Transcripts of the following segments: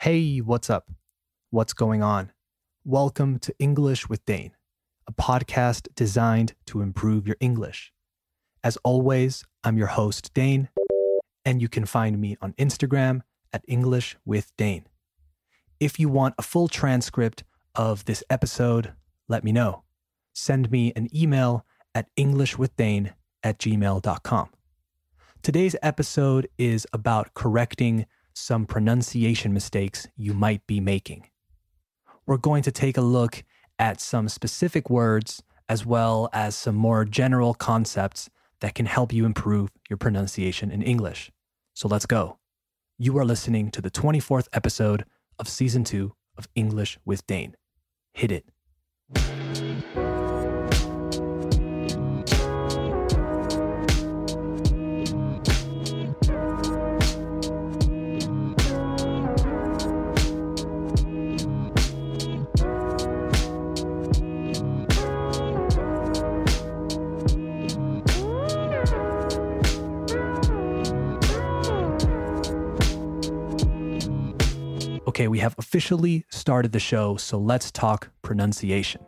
Hey, what's up? What's going on? Welcome to English with Dane, a podcast designed to improve your English. As always, I'm your host, Dane, and you can find me on Instagram at English with Dane. If you want a full transcript of this episode, let me know. Send me an email at englishwithdane@gmail.com. Today's episode is about correcting some pronunciation mistakes you might be making. We're going to take a look at some specific words as well as some more general concepts that can help you improve your pronunciation in English. So let's go. You are listening to the 24th episode of Season 2 of English with Dane. Hit it. Okay, we have officially started the show, so let's talk pronunciation.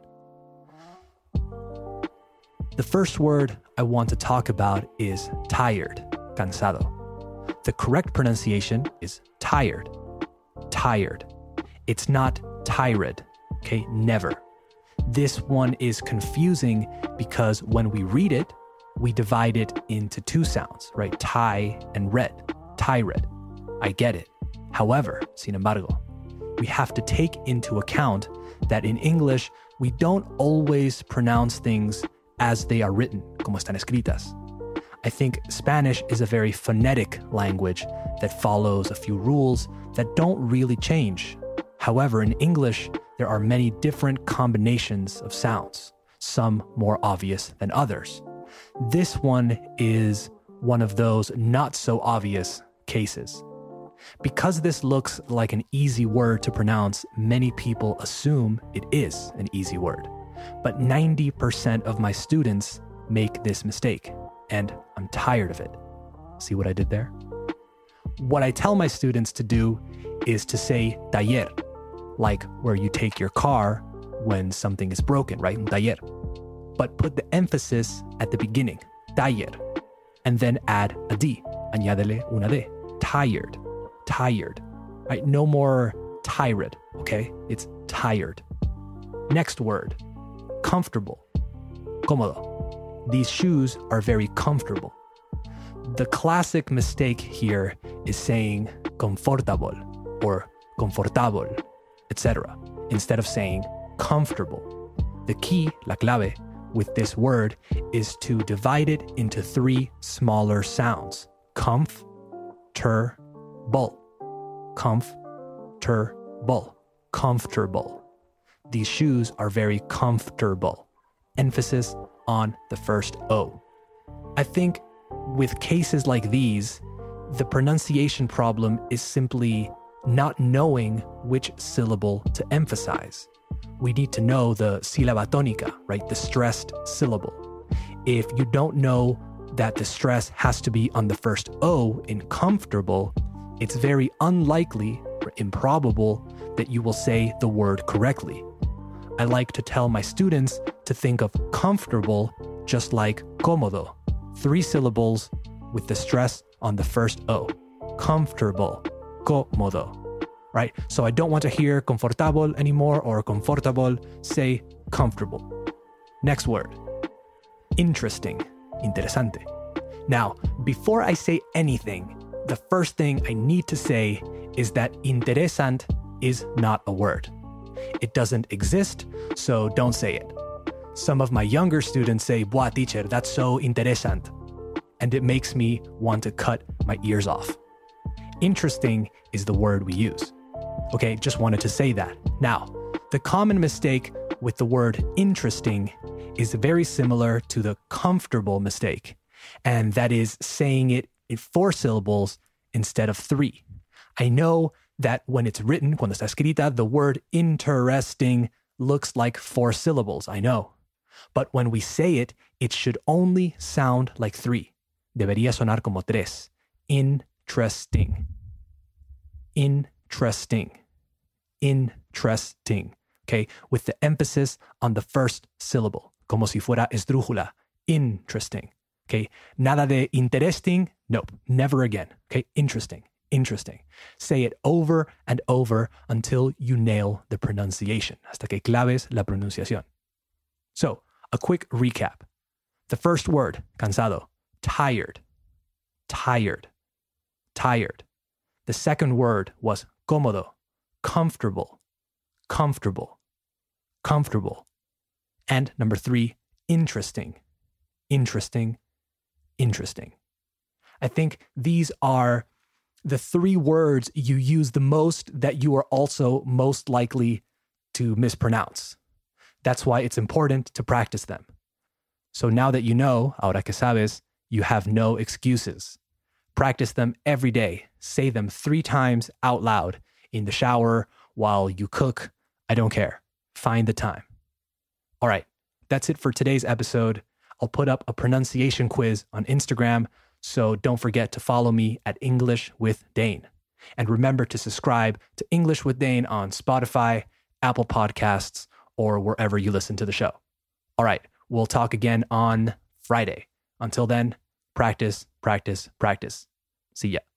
The first word I want to talk about is tired, cansado. The correct pronunciation is tired, tired. It's not tired, okay? Never. This one is confusing because when we read it, we divide it into two sounds, right? Tie and red, tired. I get it. However, sin embargo, we have to take into account that in English, we don't always pronounce things as they are written, como están escritas. I think Spanish is a very phonetic language that follows a few rules that don't really change. However, in English, there are many different combinations of sounds, some more obvious than others. This one is one of those not so obvious cases. Because this looks like an easy word to pronounce, many people assume it is an easy word. But 90% of my students make this mistake, and I'm tired of it. See what I did there? What I tell my students to do is to say taller, like where you take your car when something is broken, right? Un taller. But put the emphasis at the beginning, taller, and then add a D, añádele una D, tired. Tired, right? No more tired, okay? It's tired. Next word, comfortable, cómodo. These shoes are very comfortable. The classic mistake here is saying confortable or confortable, etc., instead of saying comfortable. The key, la clave, with this word is to divide it into three smaller sounds. Comfortable, comfortable. These shoes are very comfortable. Emphasis on the first O. I think with cases like these, the pronunciation problem is simply not knowing which syllable to emphasize. We need to know the sílaba tónica, right? The stressed syllable. If you don't know that the stress has to be on the first O in comfortable, it's very unlikely or improbable that you will say the word correctly. I like to tell my students to think of comfortable just like cómodo, three syllables with the stress on the first O. Comfortable, cómodo, right? So I don't want to hear confortable anymore or confortable, say comfortable. Next word, interesting, interesante. Now, before I say anything, the first thing I need to say is that interesant is not a word. It doesn't exist, so don't say it. Some of my younger students say, "Buah, teacher, that's so interesant." And it makes me want to cut my ears off. Interesting is the word we use. Okay, just wanted to say that. Now, the common mistake with the word interesting is very similar to the comfortable mistake, and that is saying it in four syllables instead of three. I know that when it's written, cuando está escrita, the word interesting looks like four syllables, I know. But when we say it, it should only sound like three. Debería sonar como tres. Interesting. Interesting. interesting, okay? With the emphasis on the first syllable, como si fuera esdrújula, interesting, okay? Nada de interesting, nope, never again, okay? Interesting. Say it over and over until you nail the pronunciation, hasta que claves la pronunciación. So, a quick recap. The first word, cansado, tired. The second word was cómodo, comfortable. And number 3, interesting. I think these are the 3 words you use the most that you are also most likely to mispronounce. That's why it's important to practice them. So now that you know, ahora que sabes, you have no excuses. Practice them every day. Say them 3 times out loud, in the shower, while you cook. I don't care. Find the time. All right, that's it for today's episode. I'll put up a pronunciation quiz on Instagram, so don't forget to follow me at English with Dane. And remember to subscribe to English with Dane on Spotify, Apple Podcasts, or wherever you listen to the show. All right, we'll talk again on Friday. Until then, practice. See ya.